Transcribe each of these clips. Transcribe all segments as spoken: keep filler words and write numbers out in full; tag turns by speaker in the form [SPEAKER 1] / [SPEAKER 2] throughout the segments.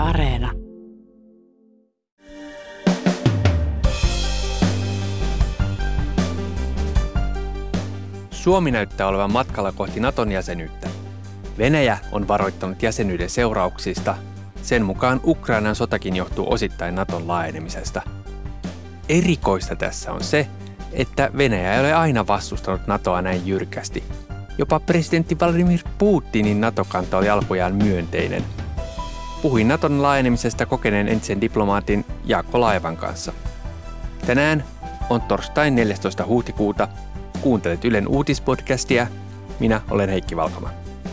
[SPEAKER 1] Areena.
[SPEAKER 2] Suomi näyttää olevan matkalla kohti Naton jäsenyyttä. Venäjä on varoittanut jäsenyyden seurauksista. Sen mukaan Ukrainan sotakin johtuu osittain Naton laajenemisesta. Erikoista tässä on se, että Venäjä ei ole aina vastustanut Natoa näin jyrkästi. Jopa presidentti Vladimir Putinin NATO-kanta oli alkujaan myönteinen. Puhuin Naton laajenemisesta kokeneen entisen diplomaatin Jaakko Laevan kanssa. Tänään on torstai neljästoista huhtikuuta. Kuuntelet Ylen uutispodcastia. Minä olen Heikki Valkama.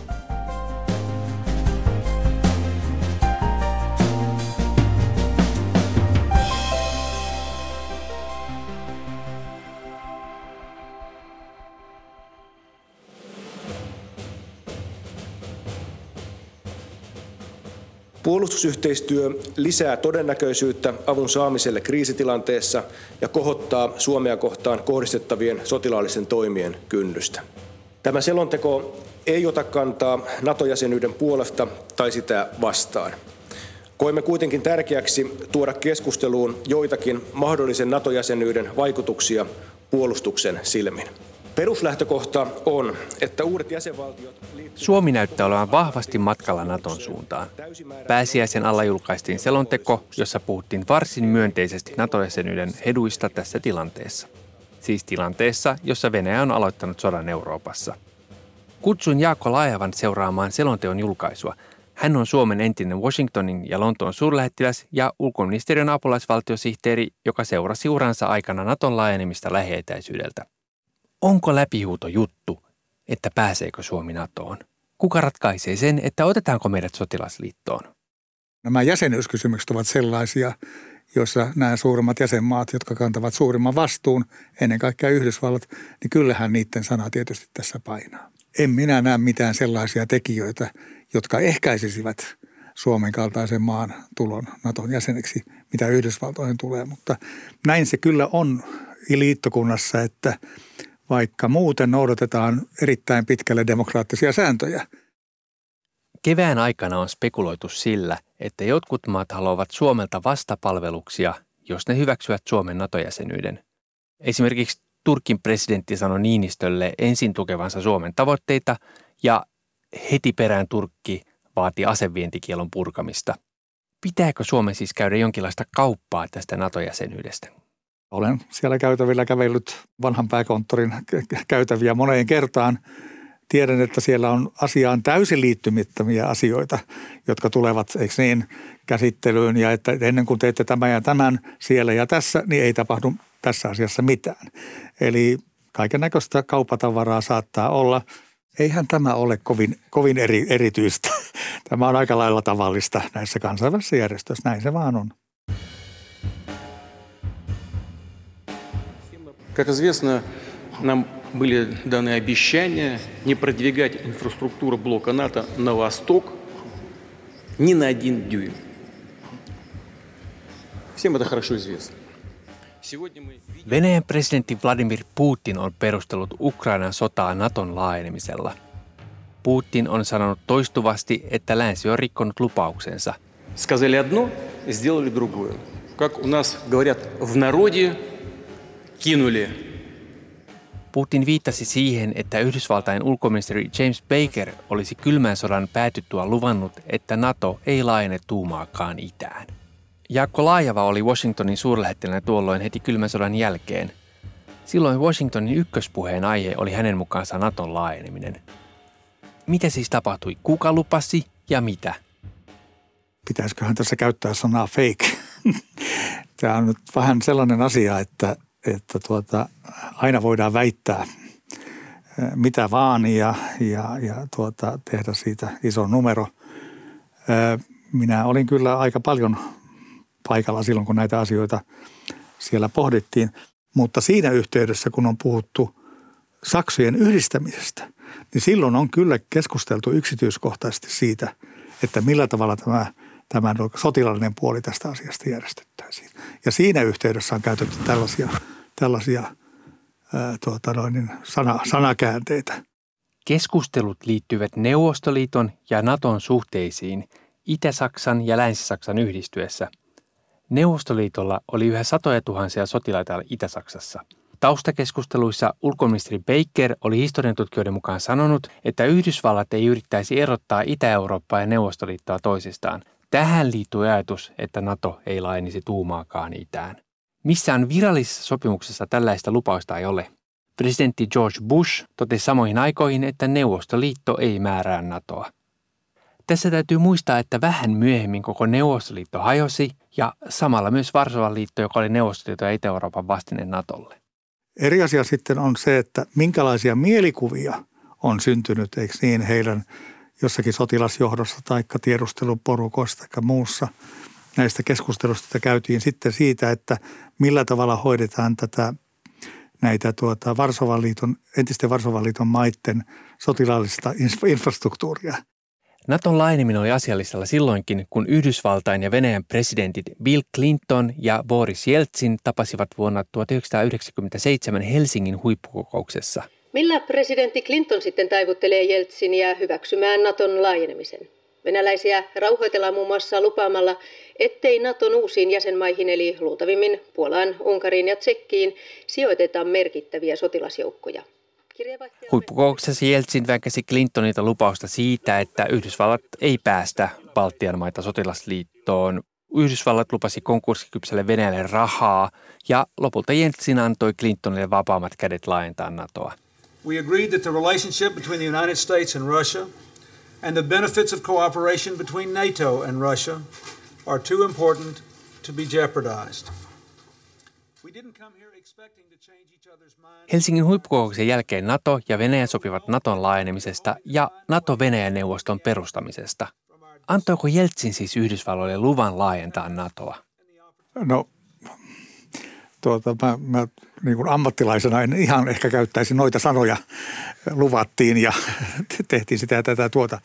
[SPEAKER 3] Puolustusyhteistyö lisää todennäköisyyttä avun saamiselle kriisitilanteessa ja kohottaa Suomea kohtaan kohdistettavien sotilaallisten toimien kynnystä. Tämä selonteko ei ota kantaa NATO-jäsenyyden puolesta tai sitä vastaan. Koemme kuitenkin tärkeäksi tuoda keskusteluun joitakin mahdollisen NATO-jäsenyyden vaikutuksia puolustuksen silmin. Peruslähtökohta on, että uudet jäsenvaltiot...
[SPEAKER 2] Suomi näyttää olevan vahvasti matkalla Naton suuntaan. Pääsiäisen alla julkaistiin selonteko, jossa puhuttiin varsin myönteisesti NATO-jäsenyyden eduista tässä tilanteessa. Siis tilanteessa, jossa Venäjä on aloittanut sodan Euroopassa. Kutsuin Jaakko Laevan seuraamaan selonteon julkaisua. Hän on Suomen entinen Washingtonin ja Lontoon suurlähettiläs ja ulkoministeriön apulaisvaltiosihteeri, joka seurasi uransa aikana Naton laajenemista lähietäisyydeltä. Onko läpihuuto juttu, että pääseekö Suomi NATOon? Kuka ratkaisee sen, että otetaanko meidät sotilasliittoon?
[SPEAKER 4] Nämä jäsenyyskysymykset ovat sellaisia, joissa nämä suurimmat jäsenmaat, jotka kantavat suurimman vastuun, ennen kaikkea Yhdysvallat, niin kyllähän niiden sana tietysti tässä painaa. En minä näe mitään sellaisia tekijöitä, jotka ehkäisisivät Suomen kaltaisen maan tulon Naton jäseneksi, mitä Yhdysvaltoihin tulee. Mutta näin se kyllä on liittokunnassa, että vaikka muuten noudatetaan erittäin pitkälle demokraattisia sääntöjä.
[SPEAKER 2] Kevään aikana on spekuloitu sillä, että jotkut maat haluavat Suomelta vastapalveluksia, jos ne hyväksyvät Suomen NATO-jäsenyyden. Esimerkiksi Turkin presidentti sanoi Niinistölle ensin tukevansa Suomen tavoitteita ja heti perään Turkki vaati asevientikielon purkamista. Pitääkö Suomen siis käydä jonkinlaista kauppaa tästä NATO-jäsenyydestä?
[SPEAKER 4] Olen siellä käytävillä kävellyt vanhan pääkonttorin käytäviä moneen kertaan. Tiedän, että siellä on asiaan täysin liittymättömiä asioita, jotka tulevat, eikö niin, käsittelyyn. Ja että ennen kuin teette tämän ja tämän siellä ja tässä, niin ei tapahdu tässä asiassa mitään. Eli kaiken näköistä kauppatavaraa saattaa olla. Eihän tämä ole kovin, kovin eri, erityistä. Tämä on aika lailla tavallista näissä kansainvälisissä järjestöissä. Näin se vaan on.
[SPEAKER 5] Как известно, нам были даны обещания не продвигать инфраструктуру блока НАТО на восток ни на один дюйм. Всем это хорошо известно.
[SPEAKER 2] Venäjän presidentti Vladimir Putin on perustellut Ukrainan sotaa Naton laajenemisella. Putin on sanonut toistuvasti, että länsi on rikkonut lupauksensa.
[SPEAKER 5] Сказали одно, сделали другое. Как у нас говорят в народе, кинули.
[SPEAKER 2] Putin viittasi siihen, että Yhdysvaltain ulkoministeri James Baker olisi kylmän sodan päätyttyä luvannut, että NATO ei laajene tuumaakaan itään. Jaakko Laajava oli Washingtonin suurlähettiläänä tuolloin heti kylmän sodan jälkeen. Silloin Washingtonin ykköspuheen aihe oli hänen mukaansa Naton laajeneminen. Mitä siis tapahtui? Kuka lupasi ja mitä?
[SPEAKER 4] Pitäisiköhän tässä käyttää sanaa fake? Tämä on nyt vähän sellainen asia, että että tuota, aina voidaan väittää mitä vaan ja, ja, ja tuota, tehdä siitä iso numero. Minä olin kyllä aika paljon paikalla silloin, kun näitä asioita siellä pohdittiin, mutta siinä yhteydessä, kun on puhuttu saksojen yhdistämisestä, niin silloin on kyllä keskusteltu yksityiskohtaisesti siitä, että millä tavalla tämä, tämä sotilaallinen puoli tästä asiasta järjestettäisiin. Ja siinä yhteydessä on käytetty tällaisia, tällaisia ää, tuota noin, sana, sanakäänteitä.
[SPEAKER 2] Keskustelut liittyvät Neuvostoliiton ja Naton suhteisiin Itä-Saksan ja Länsi-Saksan yhdistyessä. Neuvostoliitolla oli yhä satoja tuhansia sotilaita Itä-Saksassa. Taustakeskusteluissa ulkoministeri Baker oli historiantutkijoiden mukaan sanonut, että Yhdysvallat ei yrittäisi erottaa Itä-Eurooppaa ja Neuvostoliittoa toisistaan. Tähän liittyy ajatus, että NATO ei laajenisi tuumaakaan itään. Missään virallisessa sopimuksessa tällaista lupausta ei ole. Presidentti George Bush totesi samoihin aikoihin, että Neuvostoliitto ei määrää NATOa. Tässä täytyy muistaa, että vähän myöhemmin koko Neuvostoliitto hajosi ja samalla myös Varsovan liitto, joka oli Neuvostoliiton ja Itä-Euroopan vastine NATOlle.
[SPEAKER 4] Eri asia sitten on se, että minkälaisia mielikuvia on syntynyt, eikö niin, heidän jossakin sotilasjohdossa tai tiedusteluporukoissa tai muussa näistä keskustelusta, että käytiin sitten siitä, että millä tavalla hoidetaan tätä näitä tuota Varsovan liiton, entisten Varsovan liiton maiden sotilaallista infrastruktuuria.
[SPEAKER 2] Naton laajeneminen oli asiallistalla silloinkin, kun Yhdysvaltain ja Venäjän presidentit Bill Clinton ja Boris Jeltsin tapasivat vuonna tuhatyhdeksänsataayhdeksänkymmentäseitsemän Helsingin huippukokouksessa.
[SPEAKER 1] Millä presidentti Clinton sitten taivuttelee Jeltsinia hyväksymään Naton laajenemisen? Venäläisiä rauhoitellaan muun muassa lupaamalla, ettei Naton uusiin jäsenmaihin eli luultavimmin Puolaan, Unkariin ja Tsekkiin sijoitetaan merkittäviä sotilasjoukkoja.
[SPEAKER 2] Huippukokouksessa Jeltsin väkäsi Clintonilta lupausta siitä, että Yhdysvallat ei päästä Baltian maita sotilasliittoon. Yhdysvallat lupasi konkurssikypsälle Venäjälle rahaa ja lopulta Jeltsin antoi Clintonille vapaammat kädet laajentaa NATOa.
[SPEAKER 6] We agreed that the relationship between the United States and Russia and the benefits of cooperation between NATO and Russia are too important to be jeopardized. We didn't come here expecting to change each other's minds.
[SPEAKER 2] Helsingin huippukokouksen jälkeen NATO ja Venäjä sopivat Naton laajenemisesta ja NATO-Venäjä-neuvoston perustamisesta. Antoiko Jeltsin siis Yhdysvalloille luvan laajentaa NATOa?
[SPEAKER 4] No, tuota, mä, mä niin kuin ammattilaisena en ihan ehkä käyttäisi noita sanoja. Luvattiin ja tehtiin sitä ja tätä tuota.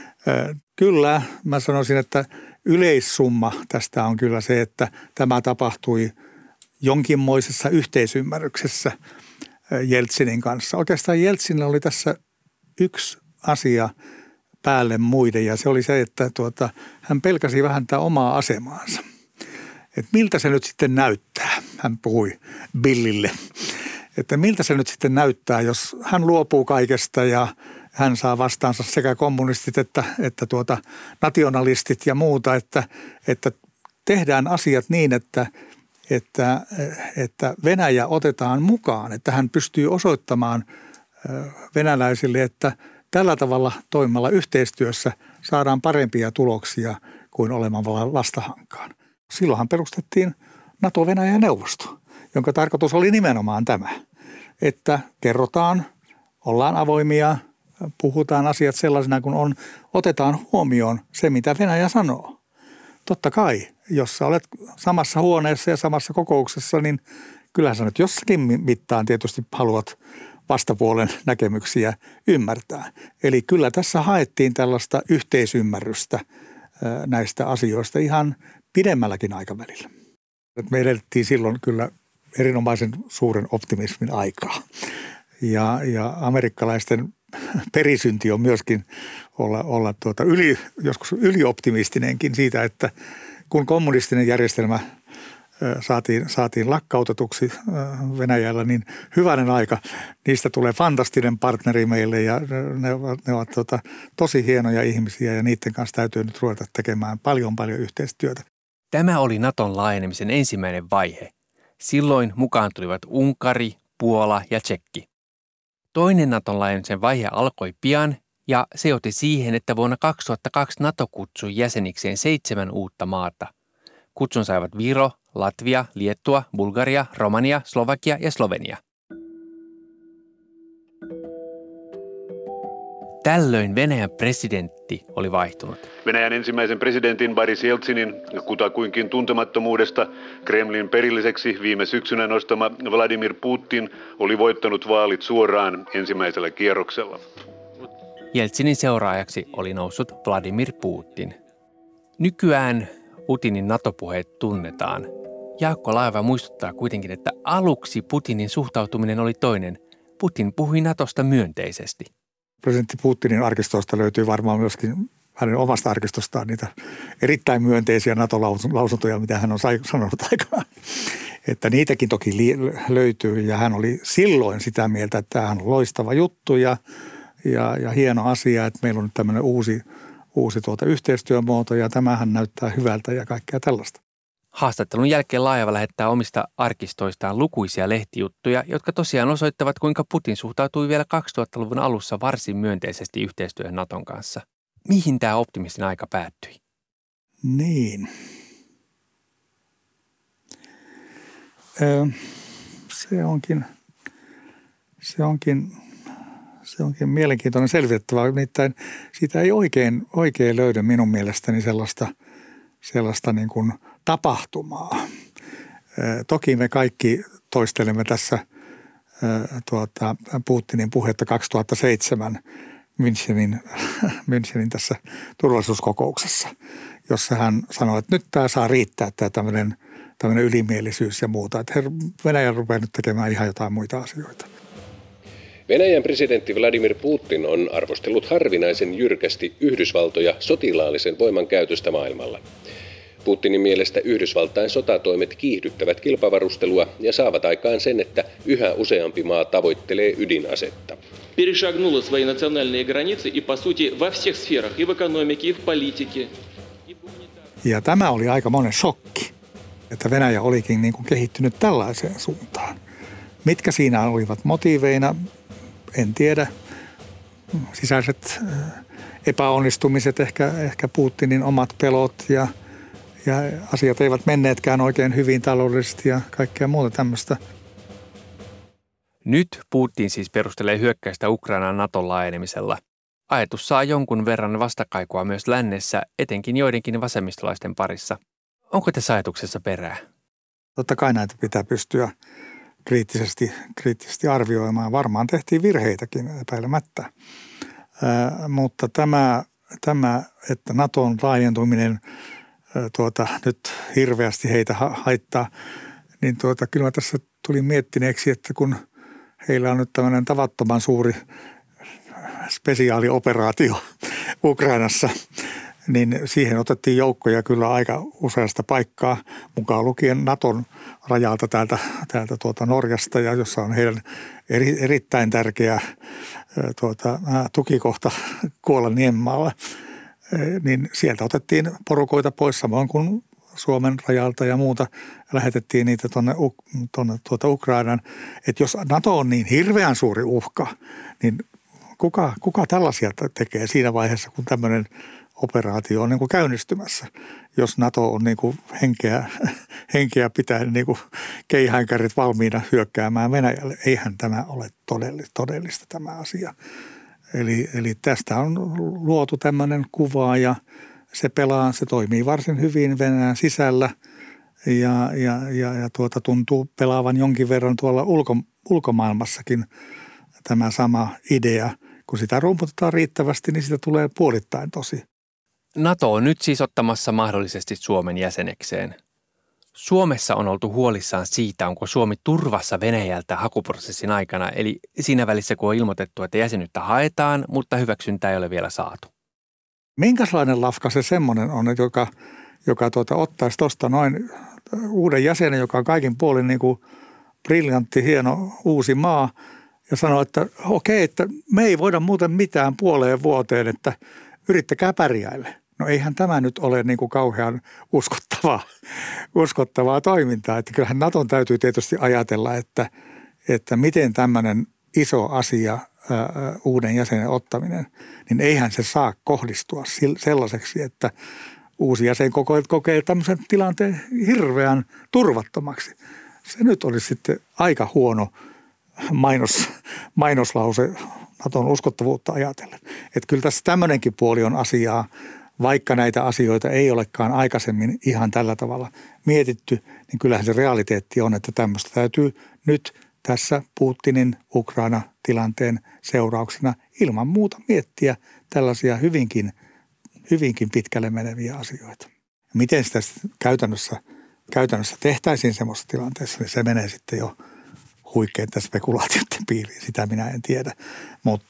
[SPEAKER 4] Kyllä, mä sanoisin, että yleissumma tästä on kyllä se, että tämä tapahtui jonkinmoisessa yhteisymmärryksessä Jeltsinin kanssa. Oikeastaan Jeltsinillä oli tässä yksi asia päälle muiden ja se oli se, että tuota, hän pelkäsi vähän tätä omaa asemaansa. Että miltä se nyt sitten näyttää, hän puhui Billille, että miltä se nyt sitten näyttää, jos hän luopuu kaikesta ja hän saa vastaansa sekä kommunistit että, että tuota, nationalistit ja muuta, että, että tehdään asiat niin, että, että, että Venäjä otetaan mukaan, että hän pystyy osoittamaan venäläisille, että tällä tavalla toimimalla yhteistyössä saadaan parempia tuloksia kuin olemalla vastahankaan. Silloinhan perustettiin NATO-Venäjä-neuvosto, jonka tarkoitus oli nimenomaan tämä, että kerrotaan, ollaan avoimia, puhutaan asiat sellaisena kuin on, otetaan huomioon se, mitä Venäjä sanoo. Totta kai, jos sä olet samassa huoneessa ja samassa kokouksessa, niin kyllähän sä nyt jossakin mittaan tietysti haluat vastapuolen näkemyksiä ymmärtää. Eli kyllä tässä haettiin tällaista yhteisymmärrystä näistä asioista ihan pidemmälläkin aikavälillä. Me elettiin silloin kyllä erinomaisen suuren optimismin aikaa. Ja, ja amerikkalaisten perisynti on myöskin olla, olla tuota yli, joskus ylioptimistinenkin siitä, että kun kommunistinen järjestelmä saatiin, saatiin lakkautetuksi Venäjällä, niin hyvänen aika, niistä tulee fantastinen partneri meille ja ne ovat, ne ovat tuota, tosi hienoja ihmisiä ja niiden kanssa täytyy nyt ruveta tekemään paljon paljon yhteistyötä.
[SPEAKER 2] Tämä oli Naton laajenemisen ensimmäinen vaihe. Silloin mukaan tulivat Unkari, Puola ja Tsekki. Toinen Naton laajenemisen vaihe alkoi pian ja se johti siihen, että vuonna kaksituhattakaksi NATO kutsui jäsenikseen seitsemän uutta maata. Kutsun saivat Viro, Latvia, Liettua, Bulgaria, Romania, Slovakia ja Slovenia. Tällöin Venäjän presidentti oli vaihtunut.
[SPEAKER 7] Venäjän ensimmäisen presidentin Boris Jeltsinin kutakuinkin tuntemattomuudesta Kremlin perilliseksi viime syksynä nostama Vladimir Putin oli voittanut vaalit suoraan ensimmäisellä kierroksella.
[SPEAKER 2] Jeltsinin seuraajaksi oli noussut Vladimir Putin. Nykyään Putinin NATO-puheet tunnetaan. Jaakko Laeva muistuttaa kuitenkin, että aluksi Putinin suhtautuminen oli toinen. Putin puhui NATOsta myönteisesti.
[SPEAKER 4] Presidentti Putinin arkistoista löytyy varmaan myöskin hänen omasta arkistostaan niitä erittäin myönteisiä NATO-lausuntoja, mitä hän on sanonut aikanaan. Että niitäkin toki löytyy ja hän oli silloin sitä mieltä, että tämä on loistava juttu ja, ja, ja hieno asia, että meillä on nyt tämmöinen uusi, uusi tuota yhteistyömuoto ja tämähän näyttää hyvältä ja kaikkea tällaista.
[SPEAKER 2] Haastattelun jälkeen Laajava lähettää omista arkistoistaan lukuisia lehtijuttuja, jotka tosiaan osoittavat, kuinka Putin suhtautui vielä kaksituhattaluvun alussa varsin myönteisesti yhteistyöhön Naton kanssa. Mihin tämä optimistinen aika päättyi?
[SPEAKER 4] Niin. Öö, se onkin, se onkin, se onkin mielenkiintoinen selvitettävä. Nimittäin siitä ei oikein, oikein löydy minun mielestäni sellaista, sellaista niin kuin tapahtumaa. Öö, toki me kaikki toistelemme tässä öö, tuota, Putinin puhetta kaksituhattaseitsemän Münchenin, Münchenin tässä turvallisuuskokouksessa, jossa hän sanoi, että nyt tämä saa riittää tämä tämmöinen tämmöinen ylimielisyys ja muuta. Että Venäjä rupeaa nyt tekemään ihan jotain muita asioita.
[SPEAKER 8] Venäjän presidentti Vladimir Putin on arvostellut harvinaisen jyrkästi Yhdysvaltoja sotilaallisen voiman käytöstä maailmalla. Putinin mielestä Yhdysvaltain sotatoimet kiihdyttävät kilpavarustelua ja saavat aikaan sen, että yhä useampi maa tavoittelee ydinasetta.
[SPEAKER 9] Перешагнула свои национальные границы и, по сути, во всех сферах, и в экономике, и в политике.
[SPEAKER 4] Ja tämä oli aika monen shokki, että Venäjä olikin niin kuin kehittynyt tällaiseen suuntaan. Mitkä siinä olivat motiiveina, en tiedä. Sisäiset epäonnistumiset, ehkä, ehkä Putinin omat pelot ja, ja asiat eivät menneetkään oikein hyvin taloudellisesti ja kaikkea muuta tämmöistä.
[SPEAKER 2] Nyt Putin siis perustelee hyökkäystä Ukrainan Naton laajenemisella. Ajatus saa jonkun verran vastakaikua myös lännessä, etenkin joidenkin vasemmistolaisten parissa. Onko tässä ajatuksessa perää?
[SPEAKER 4] Totta kai näitä pitää pystyä kriittisesti, kriittisesti arvioimaan. Varmaan tehtiin virheitäkin epäilemättä. Ää, mutta tämä, tämä, että Naton laajentuminen ää, tuota, nyt hirveästi heitä ha- haittaa, niin tuota, kyllä mä tässä tulin miettineeksi, että kun heillä on nyt tämmöinen tavattoman suuri spesiaalioperaatio Ukrainassa, niin siihen otettiin joukkoja kyllä aika useasta paikkaa, mukaan lukien Naton rajalta täältä, täältä tuota Norjasta, ja jossa on heidän eri, erittäin tärkeä tuota, tukikohta Kuolan-Niemmaalla, niin sieltä otettiin porukoita pois samoin kuin Suomen rajalta ja muuta, lähetettiin niitä tuonne, tuonne tuota Ukrainan. Että jos NATO on niin hirveän suuri uhka, niin kuka, kuka tällaisia tekee siinä vaiheessa, kun tämmöinen operaatio on niin kuin käynnistymässä, jos NATO on niin kuin henkeä, henkeä pitäen niin kuin keihäänkärit valmiina hyökkäämään Venäjälle. Eihän tämä ole todellista, todellista tämä asia. Eli, eli tästä on luotu tämmöinen kuva ja se pelaa, se toimii varsin hyvin Venäjän sisällä ja, ja, ja, ja tuota, tuntuu pelaavan jonkin verran tuolla ulko, ulkomaailmassakin tämä sama idea. Kun sitä rumputetaan riittävästi, niin sitä tulee puolittain tosi.
[SPEAKER 2] NATO on nyt siis ottamassa mahdollisesti Suomen jäsenekseen. Suomessa on oltu huolissaan siitä, onko Suomi turvassa Venäjältä hakuprosessin aikana, eli siinä välissä kun on ilmoitettu, että jäsenyyttä haetaan, mutta hyväksyntää ei ole vielä saatu.
[SPEAKER 4] Minkälainen lafka se semmoinen on, joka, joka tuota, ottaisi tuosta noin uuden jäsenen, joka on kaikin puolin niin kuin briljantti, hieno uusi maa, ja sanoo, että okei, että me ei voida muuten mitään puoleen vuoteen, että yrittäkää pärjäille. No eihän tämä nyt ole niin kuin kauhean uskottavaa, uskottavaa toimintaa. Että kyllähän Naton täytyy tietysti ajatella, että, että miten tämmöinen iso asia, ää, uuden jäsenen ottaminen, niin eihän se saa kohdistua sellaiseksi, että uusi jäsen kokee, kokee tämmöisen tilanteen hirveän turvattomaksi. Se nyt olisi sitten aika huono mainos, mainoslause Naton uskottavuutta ajatellen. Että kyllä tässä tämmöinenkin puoli on asiaa, vaikka näitä asioita ei olekaan aikaisemmin ihan tällä tavalla mietitty, niin kyllähän se realiteetti on, että tämmöistä täytyy nyt tässä Putinin Ukraina-tilanteen seurauksena ilman muuta miettiä tällaisia hyvinkin, hyvinkin pitkälle meneviä asioita. Miten sitä käytännössä, käytännössä tehtäisiin semmoisessa tilanteessa, niin se menee sitten jo huikeiden spekulaatioiden piiriin, sitä minä en tiedä. Mutta,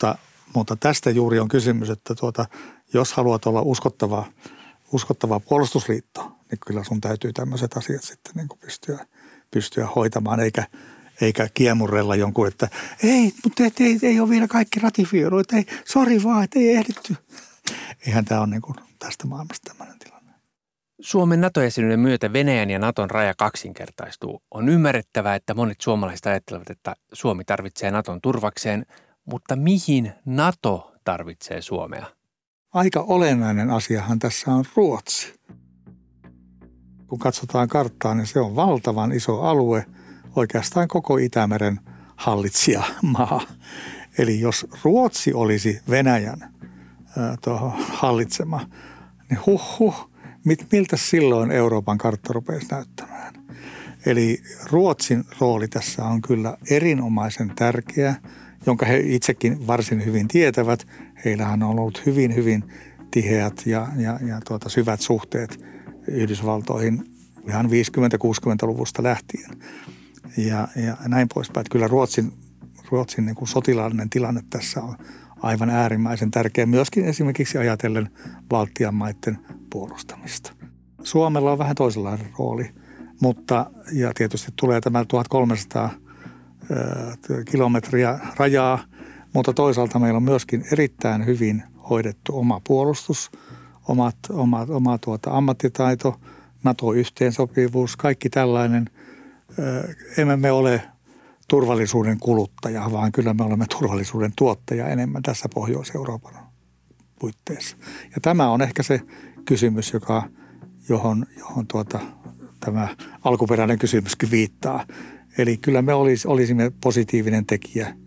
[SPEAKER 4] mutta tästä juuri on kysymys, että tuota, jos haluat olla uskottava, uskottava puolustusliitto, niin kyllä sun täytyy tämmöiset asiat sitten niin kuin pystyä, pystyä hoitamaan, eikä, eikä kiemurrella jonkun, että ei, mutta ei, ei, ei ole vielä kaikki ratifioitu, että ei, sori vaan, että ei ehditty. Eihän tämä ole niin kuin tästä maailmasta tämmöinen tilanne.
[SPEAKER 2] Suomen NATO-jäsenyyden myötä Venäjän ja Naton raja kaksinkertaistuu. On ymmärrettävää, että monet suomalaiset ajattelevat, että Suomi tarvitsee Naton turvakseen, mutta mihin NATO tarvitsee Suomea?
[SPEAKER 4] Aika olennainen asiahan tässä on Ruotsi. Kun katsotaan karttaa, niin se on valtavan iso alue, oikeastaan koko Itämeren hallitsijamaa. Eli jos Ruotsi olisi Venäjän äh, tuohon hallitsema, niin huh huh, mit, miltä silloin Euroopan kartta rupeaisi näyttämään? Eli Ruotsin rooli tässä on kyllä erinomaisen tärkeä, jonka he itsekin varsin hyvin tietävät. Heillähän on ollut hyvin, hyvin tiheät ja, ja, ja tuota, syvät suhteet Yhdysvaltoihin ihan viisikymmentä-kuusikymmentäluvusta lähtien. Ja, ja näin poispäin. Että kyllä Ruotsin, Ruotsin niin kuin sotilaallinen tilanne tässä on aivan äärimmäisen tärkeä. Myöskin esimerkiksi ajatellen Baltian maiden puolustamista. Suomella on vähän toisenlainen rooli, mutta ja tietysti tulee tämä tuhatkolmesataa kilometriä rajaa, mutta toisaalta meillä on myöskin erittäin hyvin hoidettu oma puolustus, omat, omat, oma tuota ammattitaito, NATO-yhteensopivuus, kaikki tällainen. Emme me ole turvallisuuden kuluttaja, vaan kyllä me olemme turvallisuuden tuottaja enemmän tässä Pohjois-Euroopan puitteissa. Ja tämä on ehkä se kysymys, joka, johon, johon tuota, tämä alkuperäinen kysymyskin viittaa. Eli kyllä me olis, olisimme positiivinen tekijä.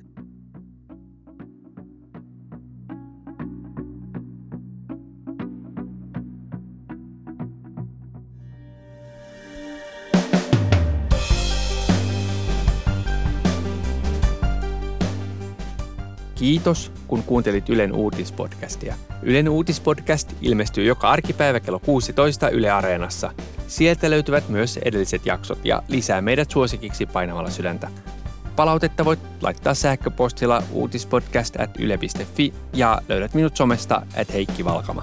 [SPEAKER 2] Kiitos, kun kuuntelit Ylen uutispodcastia. Ylen uutispodcast ilmestyy joka arkipäivä kello kuusitoista Yle Areenassa. Sieltä löytyvät myös edelliset jaksot ja lisää meidät suosikiksi painamalla sydäntä. Palautetta voit laittaa sähköpostilla uutispodcast at yle piste fi ja löydät minut somesta at Heikki Valkama.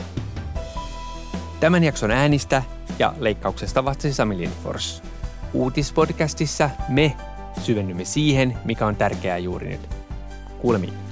[SPEAKER 2] Tämän jakson äänistä ja leikkauksesta vastasi Sami Lindfors. Uutispodcastissa me syvennymme siihen, mikä on tärkeää juuri nyt. Kuulemiin.